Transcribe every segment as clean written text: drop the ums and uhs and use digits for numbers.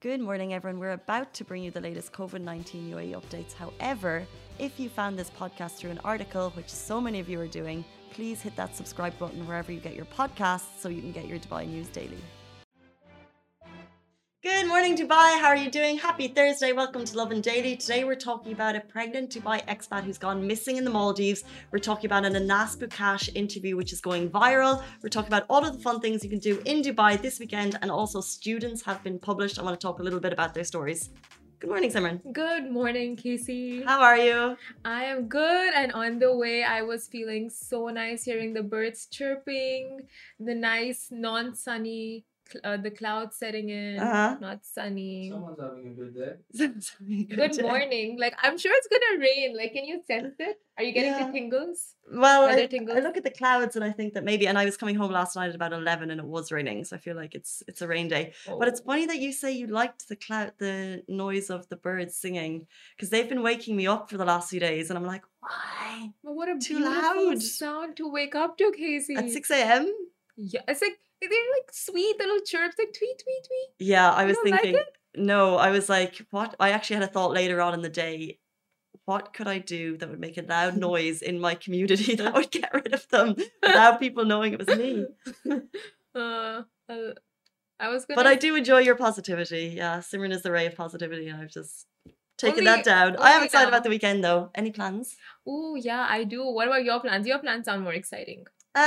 Good morning, everyone. We're about to bring you the latest COVID-19 UAE updates. However, if you found this podcast through an article, which so many of you are doing, please hit that subscribe button wherever you get your podcasts so you can get your Dubai news daily. Good morning, Dubai. How are you doing? Happy Thursday. Welcome to Lovin Daily. Today we're talking about a pregnant Dubai expat who's gone missing in the Maldives. We're talking about an Anas Boukash interview which is going viral. We're talking about all of the fun things you can do in Dubai this weekend, and also students have been published. I want to talk a little bit about their stories. Good morning, Simran. Good morning, Casey. How are you? I am good, and on the way, I was feeling so nice hearing the birds chirping, the nice non-sunny, the clouds setting in, not sunny. Someone's having a good day. Good morning. Like, I'm sure it's gonna rain. Like, can you sense it? Are you getting the tingles? Well, I tingles? look at the clouds and I think that maybe, and I was coming home last night at about 11 and it was raining, so I feel like it's a rain day. Oh. But it's funny that you say you liked the noise of the birds singing, because they've been waking me up for the last few days, and I'm like, why? But what a Too beautiful loud. sound to wake up to, Casey. At 6 a.m.? Yeah, it's like they're like sweet little chirps, like tweet, tweet, tweet. Yeah, I was don't like thinking, it? no, I was like, what? I actually had a thought later on in the day. What could I do that would make a loud noise in my community that would get rid of them without people knowing it was me? I was gonna. But I do enjoy your positivity. Yeah, Simran is the ray of positivity, and I've just taken Only- that down. I am only excited now. about the weekend, though. Any plans? Oh yeah, I do. What about your plans? Your plans sound more exciting.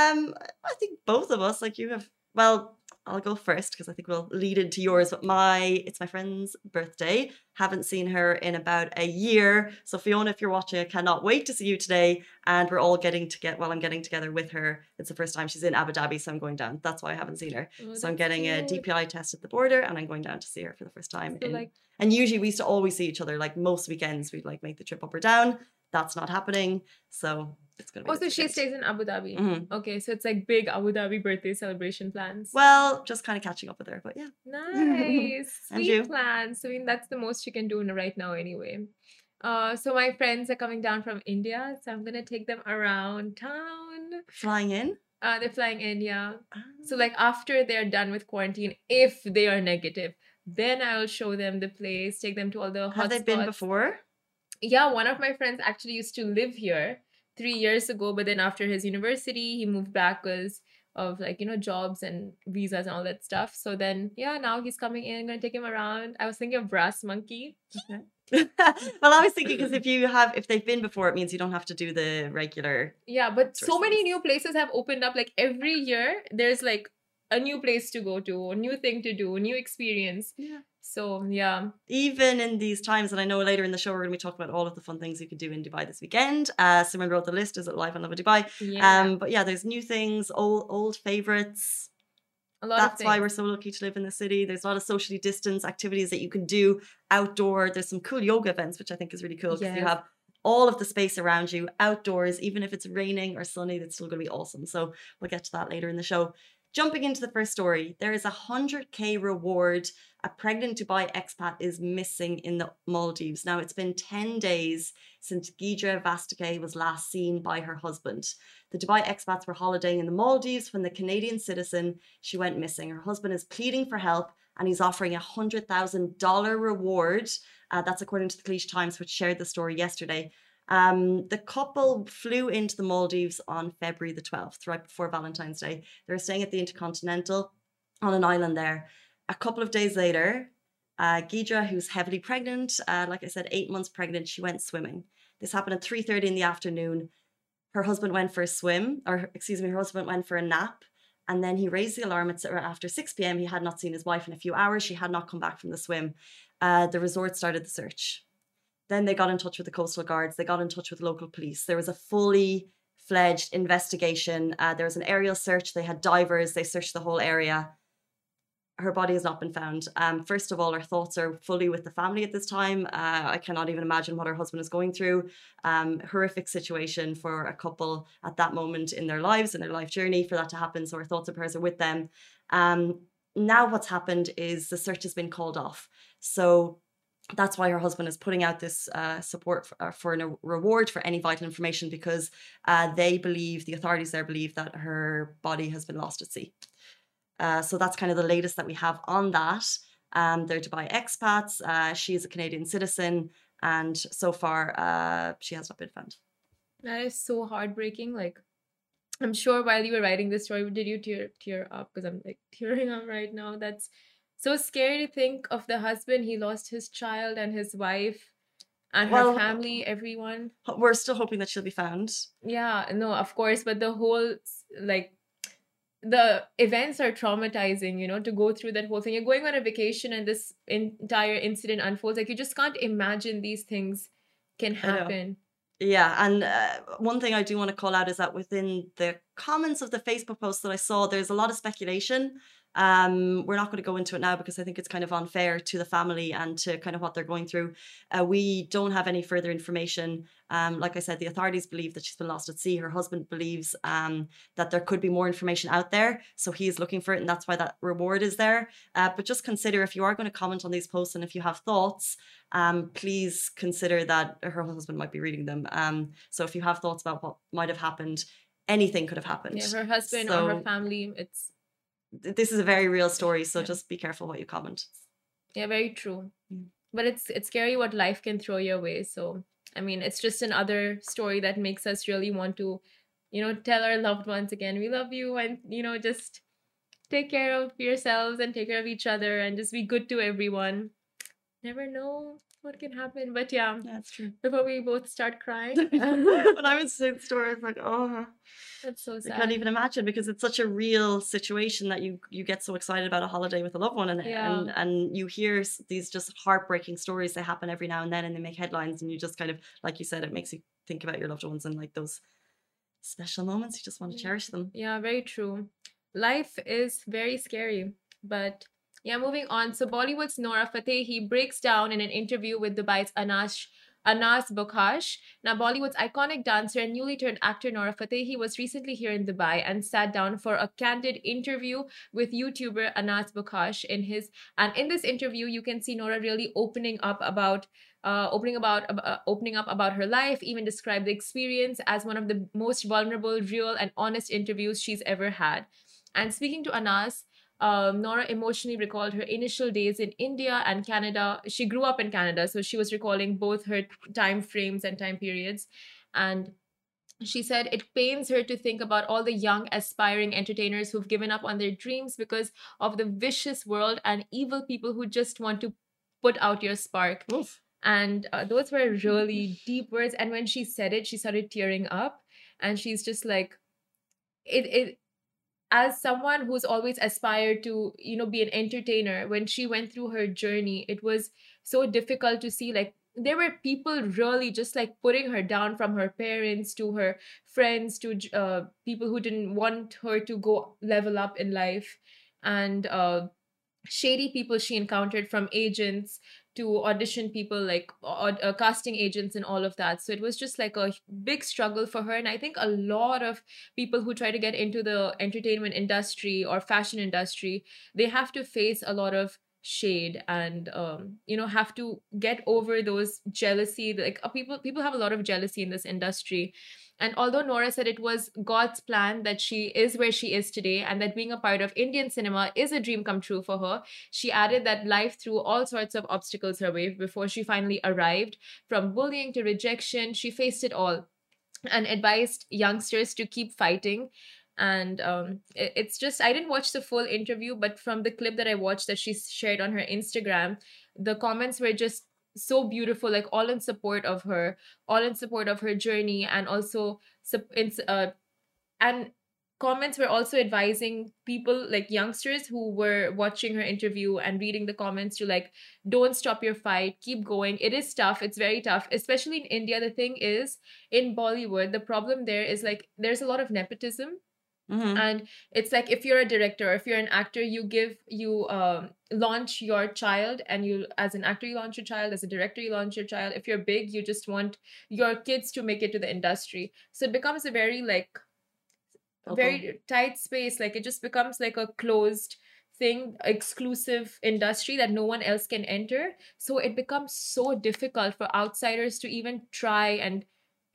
I think both of us, like you have. Well, I'll go first because I think we'll lead into yours. But it's my friend's birthday. Haven't seen her in about a year. So Fiona, if you're watching, I cannot wait to see you today. And we're all I'm getting together with her. It's the first time she's in Abu Dhabi, so I'm going down. That's why I haven't seen her. Oh, So I'm that's getting a cute. DPI test at the border, and I'm going down to see her for the first time. So, like, And usually we used to always see each other. Like most weekends, we'd like make the trip up or down. That's not happening. So it's going to be. oh, this so she weekend. stays in Abu Dhabi. Mhm. Okay, so it's like big Abu Dhabi birthday celebration plans. Well, just kind of catching up with her, but yeah. Nice, And sweet you? plans. I mean, that's the most you can do right now, anyway. So my friends are coming down from India, so I'm gonna take them around town. Flying in. They're flying in, yeah. So like after they're done with quarantine, if they are negative, then I'll show them the place, take them to all the Have they been hotspots. before? Yeah, one of my friends actually used to live here 3 years ago, but then after his university, he moved back because of like, jobs and visas and all that stuff. So then, yeah, now he's coming in. I'm going to take him around. I was thinking of Brass Monkey. Well, I was thinking because if they've been before, it means you don't have to do the regular. Yeah, but so many Tourist new places have opened up. Like every year, there's like a new place to go to, a new thing to do, a new experience. Yeah. So, yeah. Even in these times, and I know later in the show we're going to be talking about all of the fun things you can do in Dubai this weekend. Simran wrote the list. Is it live on Love of Dubai? Yeah. But yeah, there's new things, old favorites. A lot That's of why things. we're so lucky to live in the city. There's a lot of socially distanced activities that you can do outdoor. There's some cool yoga events, which I think is really cool because you Yes. have all of the space around you outdoors. Even if it's raining or sunny, that's still going to be awesome. So we'll get to that later in the show. Jumping into the first story, there is a 100K reward. A pregnant Dubai expat is missing in the Maldives. Now, it's been 10 days since Gidra Vastake was last seen by her husband. The Dubai expats were holidaying in the Maldives when the Canadian citizen, she went missing. Her husband is pleading for help and he's offering a $100,000 reward. That's according to the Khaleej Times, which shared the story yesterday. The couple flew into the Maldives on February the 12th, right before Valentine's Day. They were staying at the Intercontinental on an island there. A couple of days later, Gidra, who's heavily pregnant, like I said, 8 months pregnant, she went swimming. This happened at 3:30 in the afternoon. Her husband went for a swim, her husband went for a nap. And then he raised the alarm after 6 p.m. He had not seen his wife in a few hours. She had not come back from the swim. The resort started the search. Then they got in touch with the coastal guards. They got in touch with local police. There was a fully fledged investigation. There was an aerial search. They had divers. They searched the whole area. Her body has not been found. First of all, our thoughts are fully with the family at this time. I cannot even imagine what her husband is going through. Horrific situation for a couple at that moment in their lives, in their life journey, for that to happen. So our thoughts and prayers are with them. Now what's happened is the search has been called off. So that's why her husband is putting out this support for a reward for any vital information, because the authorities there believe that her body has been lost at sea. So that's kind of the latest that we have on that. They're Dubai expats. She is a Canadian citizen, and so far, she has not been found. That is so heartbreaking. Like, I'm sure while you were writing this story, did you tear up? Because I'm like tearing up right now. That's so scary to think of the husband. He lost his child and his wife and her Well, family, everyone. we're still hoping that she'll be found. Yeah, no, of course, but the whole like the events are traumatizing, you know, to go through that whole thing. You're going on a vacation and this entire incident unfolds. Like, you just can't imagine these things can I know. happen. Yeah, and one thing I do want to call out is that within the comments of the Facebook post that I saw, there's a lot of speculation. We're not going to go into it now because I think it's kind of unfair to the family and to kind of what they're going through. We don't have any further information. Like I said, the authorities believe that she's been lost at sea. Her husband believes that there could be more information out there, so he's looking for it, and that's why that reward is there. But just consider, if you are going to comment on these posts and if you have thoughts, please consider that her husband might be reading them. So if you have thoughts about what might have happened, anything could have happened. Yeah, her husband or her family, it's this is a very real story, so yeah. just be careful what you comment. Yeah, very true. But it's scary what life can throw your way. So I mean, it's just another story that makes us really want to, you know, tell our loved ones again, we love you, and you know, just take care of yourselves and take care of each other and just be good to everyone. Never know what can happen. But yeah, That's true. before we both start crying. When I was saying the story, I was like, oh, that's so sad. I can't even imagine, because it's such a real situation that you get so excited about a holiday with a loved one, and you hear these just heartbreaking stories. They happen every now and then, and they make headlines, and you just kind of, like you said, it makes you think about your loved ones and like those special moments. You just want to cherish them. Yeah, very true. Life is very scary, but yeah, moving on. So Bollywood's Nora Fatehi breaks down in an interview with Dubai's Anas Bokhash. Now, Bollywood's iconic dancer and newly turned actor Nora Fatehi was recently here in Dubai and sat down for a candid interview with YouTuber Anas Bokhash. In this interview, you can see Nora really opening up about her life, even describe the experience as one of the most vulnerable, real, and honest interviews she's ever had. And speaking to Anas, Nora emotionally recalled her initial days in India and Canada. She grew up in Canada, so she was recalling both her time frames and time periods. And she said it pains her to think about all the young, aspiring entertainers who've given up on their dreams because of the vicious world and evil people who just want to put out your spark. Oof. And those were really deep words. And when she said it, she started tearing up. And she's just like, it as someone who's always aspired to, you know, be an entertainer, when she went through her journey, it was so difficult to see, like, there were people really just like putting her down, from her parents to her friends to people who didn't want her to go level up in life, and shady people she encountered, from agents to audition people, like casting agents and all of that. So it was just like a big struggle for her. And I think a lot of people who try to get into the entertainment industry or fashion industry, they have to face a lot of shade and you know, have to get over those jealousy. Like people have a lot of jealousy in this industry. And although Nora said it was God's plan that she is where she is today and that being a part of Indian cinema is a dream come true for her, she added that life threw all sorts of obstacles her way before she finally arrived. From bullying to rejection, she faced it all and advised youngsters to keep fighting. And it's just, I didn't watch the full interview, but from the clip that I watched that she shared on her Instagram, the comments were just so beautiful, like all in support of her, all in support of her journey, and also and comments were also advising people, like youngsters who were watching her interview and reading the comments, to like, don't stop your fight, keep going. It is tough, it's very tough, especially in India. The thing is, in Bollywood, the problem there is like there's a lot of nepotism. Mm-hmm. And it's like, if you're a director or if you're an actor, you launch your child, and you, as an actor, you launch your child, as a director, you launch your child. If you're big, you just want your kids to make it to the industry. So it becomes a very like very tight space. Like it just becomes like a closed thing, exclusive industry that no one else can enter. So it becomes so difficult for outsiders to even try and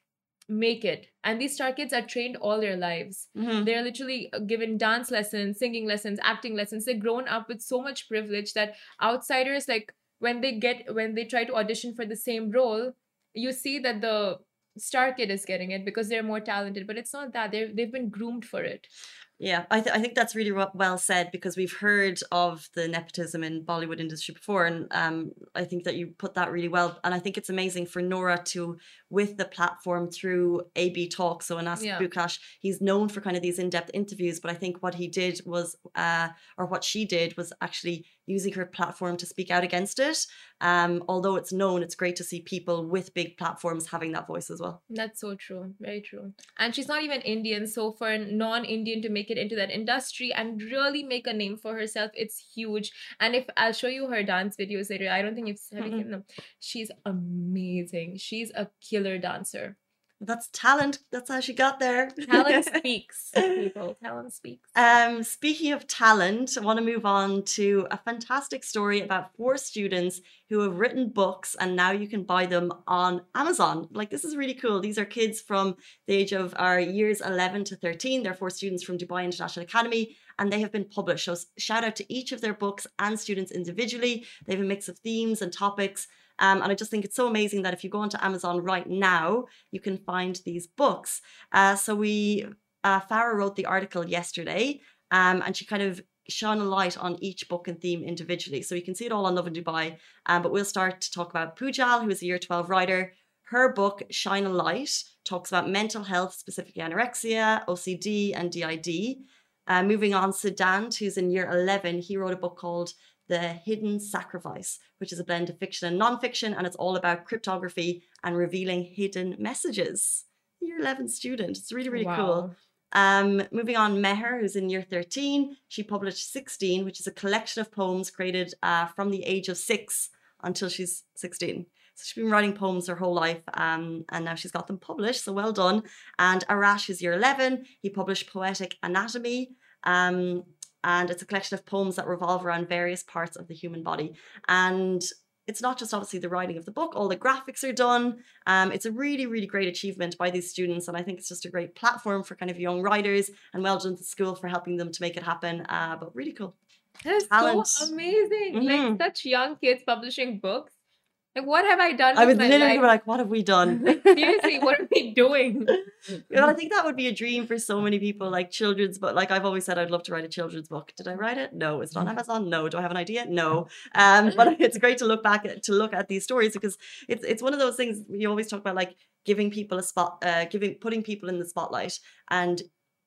make it. And these star kids are trained all their lives. Mhm. They're literally given dance lessons, singing lessons, acting lessons. They've grown up with so much privilege that outsiders, like when they try to audition for the same role, you see that the star kid is getting it because they're more talented. But it's not that. They've been groomed for it. Yeah, I think that's really well said, because we've heard of the nepotism in Bollywood industry before, and I think that you put that really well. And I think it's amazing for Nora to, with the platform through AB Talk, so in Ask Yeah. Bukash, he's known for kind of these in-depth interviews, but I think what he did was, or what she did was actually using her platform to speak out against it. Although it's known, it's great to see people with big platforms having that voice as well. That's so true. Very true. And she's not even Indian. So for a non-Indian to make it into that industry and really make a name for herself, it's huge. And if I'll show you her dance videos later, I don't think you've have you seen them. She's amazing. She's a killer dancer. That's talent. That's how she got there. Talent speaks, people. Talent speaks. Speaking of talent, I want to move on to a fantastic story about 4 students who have written books, and now you can buy them on Amazon. Like, this is really cool. These are kids from the age of our years 11 to 13. They're 4 students from Dubai International Academy, and they have been published. So shout out to each of their books and students individually. They have a mix of themes and topics. And I just think it's so amazing that if you go onto Amazon right now, you can find these books. So Farah wrote the article yesterday, and she kind of shone a light on each book and theme individually. So you can see it all on Love in Dubai. But we'll start to talk about Pujal, who is a year 12 writer. Her book, Shine a Light, talks about mental health, specifically anorexia, OCD, and DID. Moving on, Siddhant, who's in year 11, he wrote a book called The Hidden Sacrifice, which is a blend of fiction and non-fiction, and it's all about cryptography and revealing hidden messages. Year 11 student. It's really, really cool. Moving on, Meher, who's in year 13, she published 16, which is a collection of poems created from the age of 6 until she's 16. So she's been writing poems her whole life, and now she's got them published, so well done. And Arash is year 11. He published Poetic Anatomy, and it's a collection of poems that revolve around various parts of the human body. And it's not just obviously the writing of the book, all the graphics are done. It's a really, really great achievement by these students, and I think it's just a great platform for kind of young writers, and well done to school for helping them to make it happen. But really cool. That's Talent. so amazing. Mhm. Like such young kids publishing books. Like, what have I done? I with was my literally life? like, what have we done? Like, seriously, what are we doing? Well, I think that would be a dream for so many people, like children's book. Like I've always said, I'd love to write a children's book. Did I write it? No. Is it on Amazon? No. Do I have an idea? No. But it's great to look back to look at these stories, because it's one of those things you always talk about, like giving people a spot, putting people in the spotlight, and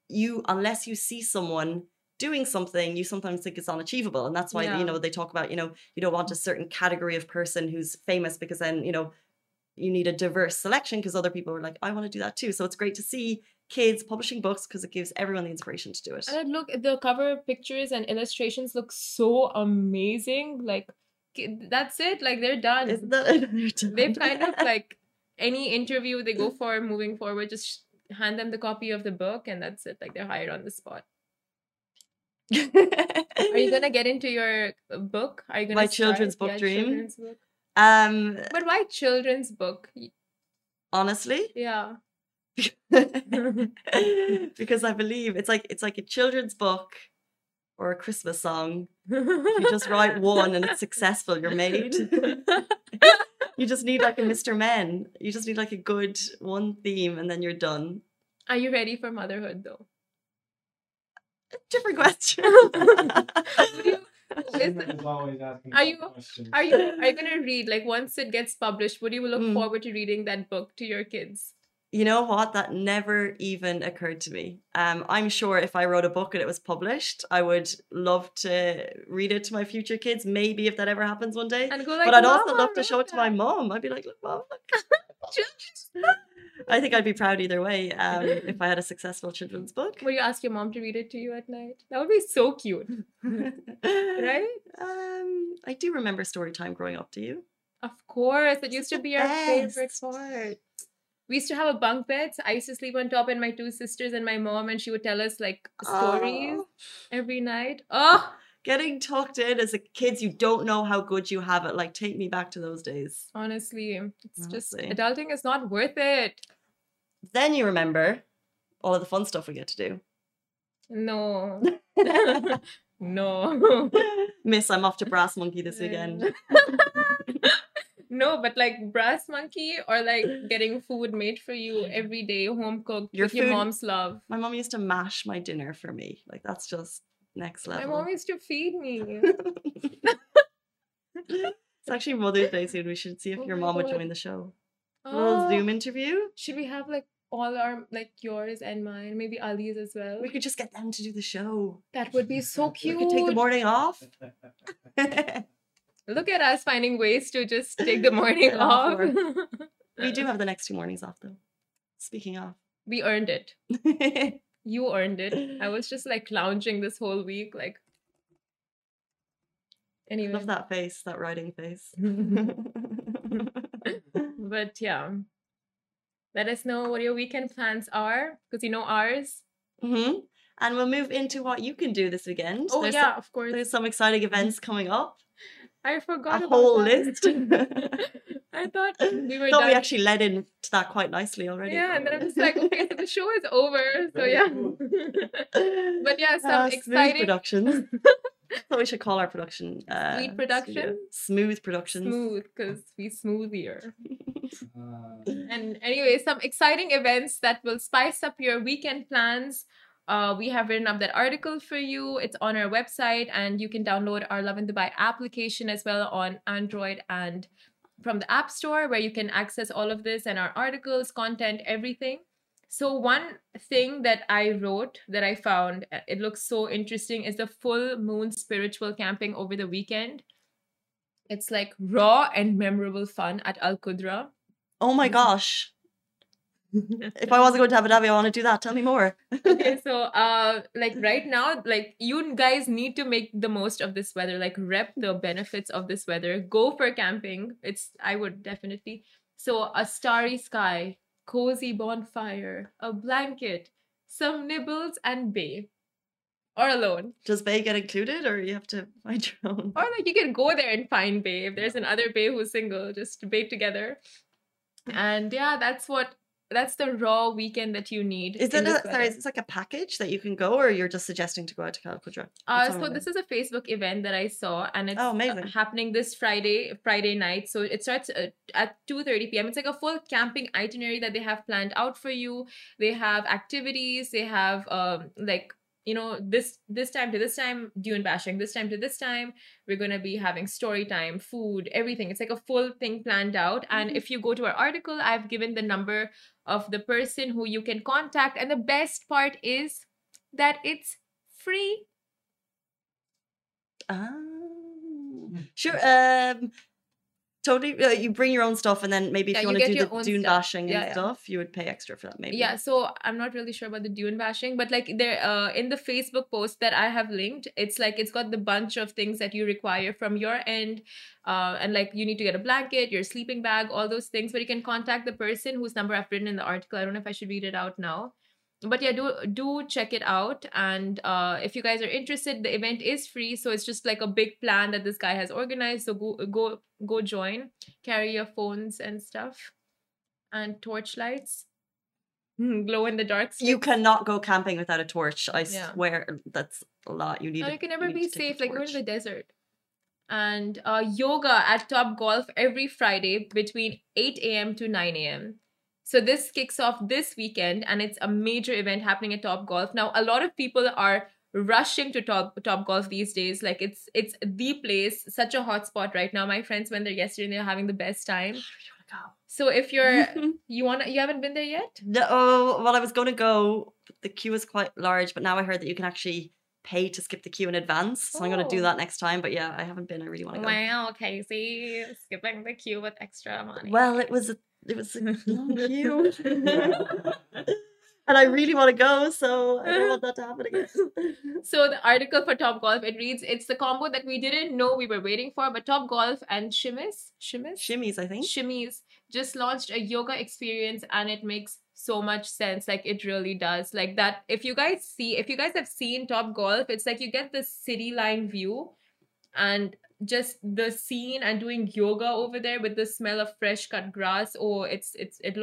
unless you see someone doing something, you sometimes think it's unachievable, and that's why Yeah. they talk about you don't want a certain category of person who's famous, because then you need a diverse selection, because other people are like, I want to do that too. So it's great to see kids publishing books, because it gives everyone the inspiration to do it. And look, the cover pictures and illustrations look so amazing. Like, that's it. Like, they're done. Isn't that They've kind of like any interview they go for moving forward, just hand them the copy of the book, and that's it. Like, they're hired on the spot. Are you gonna get into your book? Are you gonna My children's book dream? children's book? But why children's book? Honestly, Yeah. because I believe it's like a children's book or a Christmas song. You just write one and it's successful, you're made. You just need like a Mr. Men. You just need like a good one theme, and then you're done. Are you ready for motherhood though? Different question. Are you gonna read, like, once it gets published, would you look forward to reading that book to your kids? You know what? That never even occurred to me. I'm sure if I wrote a book and it was published, I would love to read it to my future kids. Maybe if that ever happens one day. And go like, but I'd also "Mama, love to show it to my read mom. I'd be like, look, mom. I think I'd be proud either way if I had a successful children's book. Will you ask your mom to read it to you at night? That would be so cute. Right? I do remember story time growing up. Do you? Of course. It used to be our favorite best. part. We used to have a bunk bed. So I used to sleep on top, and my 2 sisters and my mom, and she would tell us like stories Oh. every night. Oh, Getting tucked in as a kids, you don't know how good you have it. Like, take me back to those days. honestly, it's just Honestly. adulting is not worth it. Then you remember all of the fun stuff we get to do. No. No. Miss, I'm off to Brass Monkey this weekend. No, but like Brass Monkey or like getting food made for you every day, home cooked Your with your food- mom's love. My mom used to mash my dinner for me. Like, that's just next My level. mom used to feed me. It's actually Mother's Day soon. We should see if Oh your my mom would God. join the show. A little Oh, Zoom interview. should we have like all our, like yours and mine, maybe Ali's as well? We could just get them to do the show. That would be so We cute. could take the morning off. Look at us finding ways to just take the morning Get off off. We do have the next 2 mornings off, though. Speaking of. We earned it. You earned it. I was just like lounging this whole week, like. Anyway. Love that face, that riding face. But yeah. Let us know what your weekend plans are, because you know ours. Mm-hmm. And we'll move into what you can do this weekend. Oh, There's yeah, of course. There's some exciting events coming up. I forgot A about whole that. list. I thought we were Thought done. we actually led into that quite nicely already. Yeah, and then I'm just like, okay, so the show is over. So yeah. But yeah, some Smooth exciting Productions. That's what we should call our production. Sweet production? studio. Smooth Productions. Smooth, because we smoothier. And anyway, some exciting events that will spice up your weekend plans. We have written up that article for you. It's on our website, and you can download our Love in Dubai application as well on Android and from the App Store, where you can access all of this and our articles, content, everything. So one thing that I wrote that I found, it looks so interesting, is the full moon spiritual camping over the weekend. It's like raw and memorable fun at Al Qudra. Oh my gosh. If I wasn't going to Abu Dhabi, I want to do that. Tell me more. Okay, so like right now, like you guys need to make the most of this weather, like rep the benefits of this weather. Go for camping. I would definitely. So a starry sky, cozy bonfire, a blanket, some nibbles, and bae. Or alone. Does Bay get included, or you have to find your own? Or like you can go there and find bae. If there's another bae who's single, just bae together. And yeah, that's the raw weekend that you need. Is in it this sorry? weather. Is this like a package that you can go, or you're just suggesting to go out to Al Qudra? So this is a Facebook event that I saw, and it's amazing. happening this Friday night. So it starts at 2:30 p.m. It's like a full camping itinerary that they have planned out for you. They have activities. They have like, you know, this time to this time, dune bashing. This time to this time, we're gonna be having story time, food, everything. It's like a full thing planned out. And if you go to our article, I've given the number of the person who you can contact. And the best part is that it's free. Sure. Totally. You bring your own stuff, and then maybe if Yeah, you you want to get do your the own dune stuff. bashing and stuff, you would pay extra for that, maybe. Yeah, so I'm not really sure about the dune bashing, but like there in the Facebook post that I have linked, it's like it's got the bunch of things that you require from your end, and like you need to get a blanket, your sleeping bag, all those things. But you can contact the person whose number I've written in the article. I don't know if I should read it out now. But yeah, do check it out. And if you guys are interested, the event is free, so it's just like a big plan that this guy has organized. So go join. Carry your phones and stuff, and torch lights, glow in the dark. You cannot go camping without a torch. I Yeah. swear that's a lot. You need. And you can never need be to take a safe. Like we're in torch. the desert. And yoga at Top Golf every Friday between 8 a.m. to 9 a.m. So this kicks off this weekend, and it's a major event happening at Top Golf. Now, a lot of people are rushing to Top Golf these days. Like it's the place, such a hot spot right now. My friends went there yesterday, and they're having the best time. So if you're you haven't been there yet? No, well, I was going to go, but the queue is quite large. But now I heard that you can actually pay to skip the queue in advance. So I'm going to do that next time. But yeah, I haven't been. I really want to go. Wow, Casey, skipping the queue with extra money. Well, it was a long queue. And I really want to go, so I don't want that to happen again. So the article for Top Golf, it reads, it's the combo that we didn't know we were waiting for, but Top Golf and Shimmies, I think. Shimmies just launched a yoga experience, and it makes so much sense. Like it really does. Like that, if you guys have seen Top Golf, it's like you get the city line view and just the scene, and doing yoga over there with the smell of fresh cut grass. Oh, it looks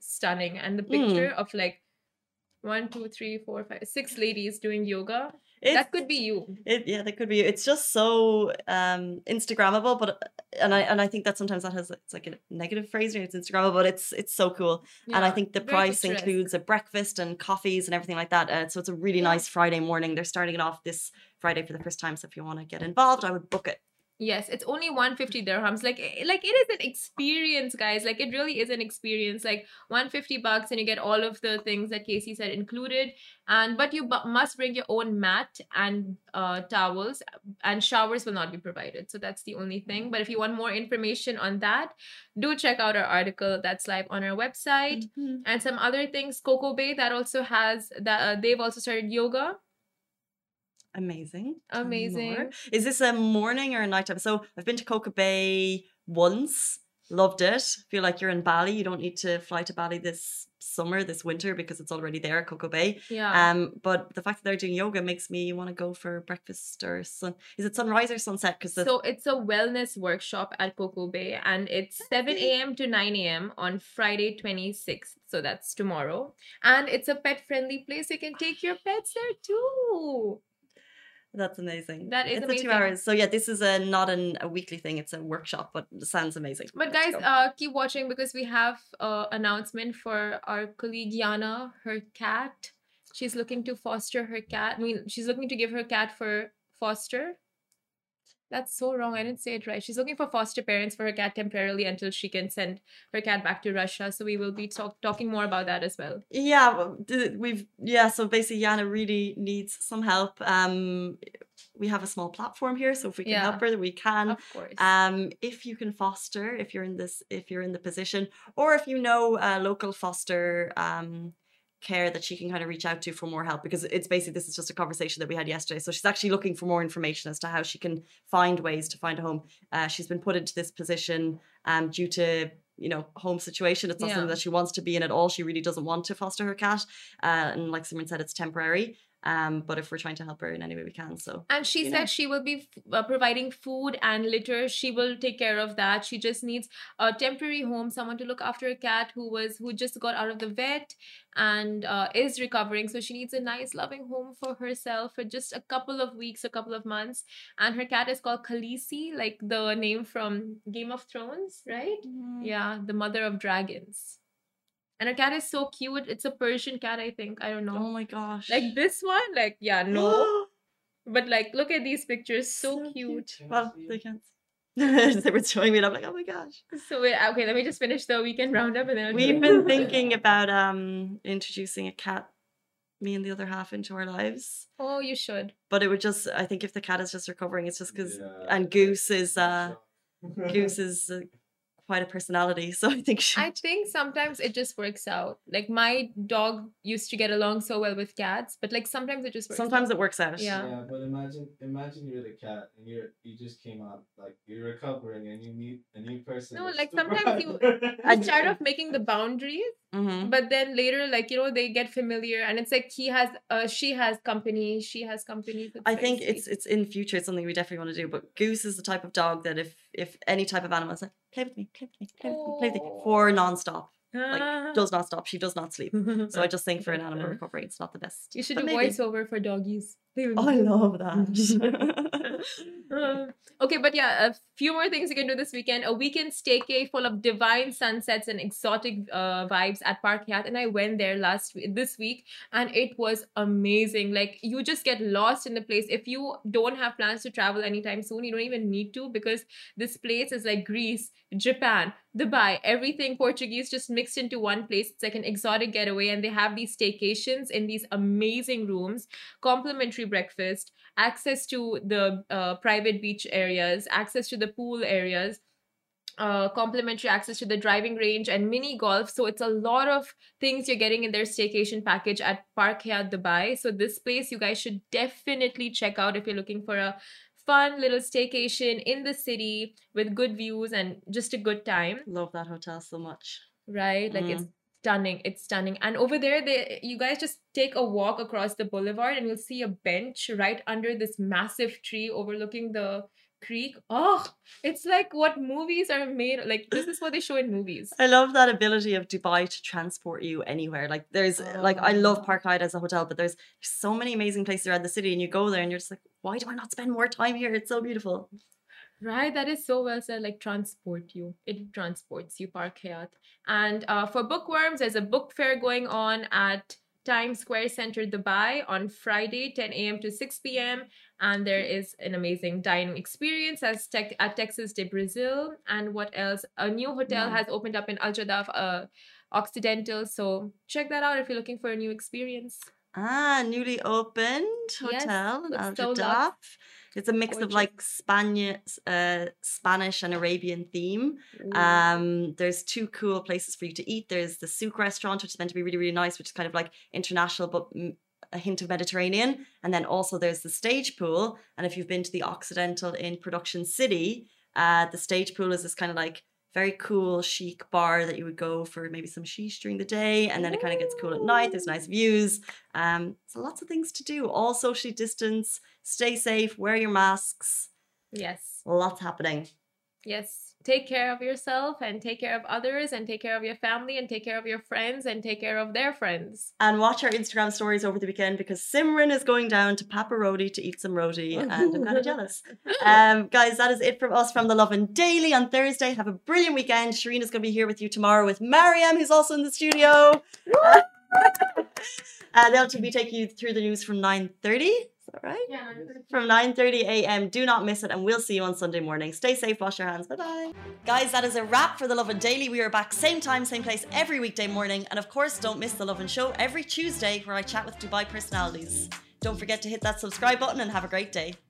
stunning. And the picture of like 1, 2, 3, 4, 5, 6 ladies doing yoga. That could be you. Yeah, that could be you. It's just so Instagrammable, but and I think that sometimes it's like a negative phrase when it's Instagrammable, but it's so cool. And I think the price includes a breakfast and coffees and everything like that. So it's a really nice Friday morning. They're starting it off this Friday for the first time. So if you want to get involved, I would book it. Yes, it's only 150 dirhams. Like it is an experience, guys. Like it really is an experience. Like 150 bucks and you get all of the things that Casey said included. But you must bring your own mat and towels, and showers will not be provided. So that's the only thing. But if you want more information on that, do check out our article that's live on our website. And some other things. Coco Bay, that also has that they've also started yoga. Amazing. Amazing. Is this a morning or a nighttime? So I've been to Coco Bay once, loved it. Feel like you're in Bali. You don't need to fly to Bali this winter, because it's already there at Coco Bay. Yeah. But the fact that they're doing yoga makes me want to go for breakfast or is it sunrise or sunset? So it's a wellness workshop at Coco Bay, and it's 7 a.m. to 9 a.m. on Friday 26th. So that's tomorrow. And it's a pet-friendly place. You can take your pets there too. That's amazing. That is amazing. 2 hours. So yeah, this is not a weekly thing. It's a workshop, but it sounds amazing. But guys, keep watching, because we have an announcement for our colleague Yana, her cat. She's looking to foster her cat. I mean, she's looking to give her cat for foster. That's so wrong. I didn't say it right. She's looking for foster parents for her cat temporarily until she can send her cat back to Russia. So we will be talking more about that as well. Yeah, so basically Yana really needs some help. We have a small platform here, so if we can help her, we can. Of course. If you can foster, if you're in the position, or if you know a local foster care that she can kind of reach out to for more help, because it's basically, this is just a conversation that we had yesterday. So she's actually looking for more information as to how she can find ways to find a home. She's been put into this position due to home situation. It's not something that she wants to be in at all. She really doesn't want to foster her cat, and like Simran said, it's temporary. But if we're trying to help her in any way we can, and she said she will be providing food and litter. She will take care of that. She just needs a temporary home, someone to look after a cat who just got out of the vet and is recovering. So she needs a nice, loving home for herself for just a couple of weeks, a couple of months. And her cat is called Khaleesi, like the name from Game of Thrones, right? Yeah, the mother of dragons. And her cat is so cute. It's a Persian cat, I think. I don't know. Oh my gosh. Like this one? Like, yeah, no. But like, look at these pictures. So cute. Well, they can't. They were showing me and I'm like, oh my gosh. So wait, okay, let me just finish the weekend roundup and then we've been thinking about introducing a cat, me and the other half, into our lives. Oh, you should. But it would just, I think if the cat is just recovering, it's just because, and Goose is quite a personality, so I think sometimes it just works out. Like my dog used to get along so well with cats, but like sometimes it just works out. It works out. Yeah, but imagine you're the cat and you just came out, like you're recovering and you meet a new person. No, like sometimes you start off making the boundaries, but then later, like they get familiar, and it's like she has company. I think it's in future. It's something we definitely want to do. But Goose is the type of dog that if any type of animal is like, play with me for non-stop. Like does not stop. She does not sleep. So I just think for an animal recovery, it's not the best. You should do voiceover for doggies. Oh, I love that. Okay, but yeah, a few more things you can do this weekend. A weekend staycay full of divine sunsets and exotic vibes at Park Hyatt, and I went there this week, and it was amazing. Like you just get lost in the place. If you don't have plans to travel anytime soon, you don't even need to, because this place is like Greece, Japan, Dubai, everything Portuguese just mixed into one place. It's like an exotic getaway, and they have these staycations in these amazing rooms, complimentary breakfast, access to the private beach areas, access to the pool areas, complimentary access to the driving range and mini golf. So it's a lot of things you're getting in their staycation package at Park Hyatt Dubai. So this place you guys should definitely check out if you're looking for a fun little staycation in the city with good views and just a good time. Love that hotel so much. Right? Like it's stunning. And over there, you guys just take a walk across the boulevard and you'll see a bench right under this massive tree overlooking the Creek. Oh, it's like what movies are made. Like this is what they show in movies. I love that ability of Dubai to transport you anywhere. Like there's like I love Park Hyatt as a hotel, but there's so many amazing places around the city, and you go there and you're just like, why do I not spend more time here? It's so beautiful. Right, that is so well said. Like transport you, it transports you, Park Hyatt. And for bookworms, there's a book fair going on at Times Square Center, Dubai on Friday, 10 a.m. to 6 p.m. And there is an amazing dining experience at Texas de Brazil. And what else? A new hotel has opened up in Al Jadaf, Occidental. So check that out if you're looking for a new experience. Newly opened hotel in Al Jadaf. It's a mix of like Spanish and Arabian theme. There's two cool places for you to eat. There's the Souk restaurant, which is meant to be really, really nice, which is kind of like international, but a hint of Mediterranean. And then also there's the stage pool. And if you've been to the Occidental in Production City, the stage pool is this kind of like very cool, chic bar that you would go for maybe some sheesh during the day, and then it kind of gets cool at night. There's nice views. So lots of things to do. All socially distance. Stay safe. Wear your masks. Yes. Lots happening. Yes. Take care of yourself and take care of others and take care of your family and take care of your friends and take care of their friends. And watch our Instagram stories over the weekend because Simran is going down to Papa Roti to eat some roti and I'm kind of jealous. Guys, that is it from us from The Lovin Daily on Thursday. Have a brilliant weekend. Shireen is going to be here with you tomorrow with Mariam, who's also in the studio. They'll be taking you through the news from 9:30. Is that right? Yeah, from 9:30 a.m. Do not miss it, and we'll see you on Sunday morning. Stay safe, wash your hands. Bye-bye. Guys, that is a wrap for The Lovin Daily. We are back same time, same place every weekday morning. And of course, don't miss The Lovin Show every Tuesday where I chat with Dubai personalities. Don't forget to hit that subscribe button and have a great day.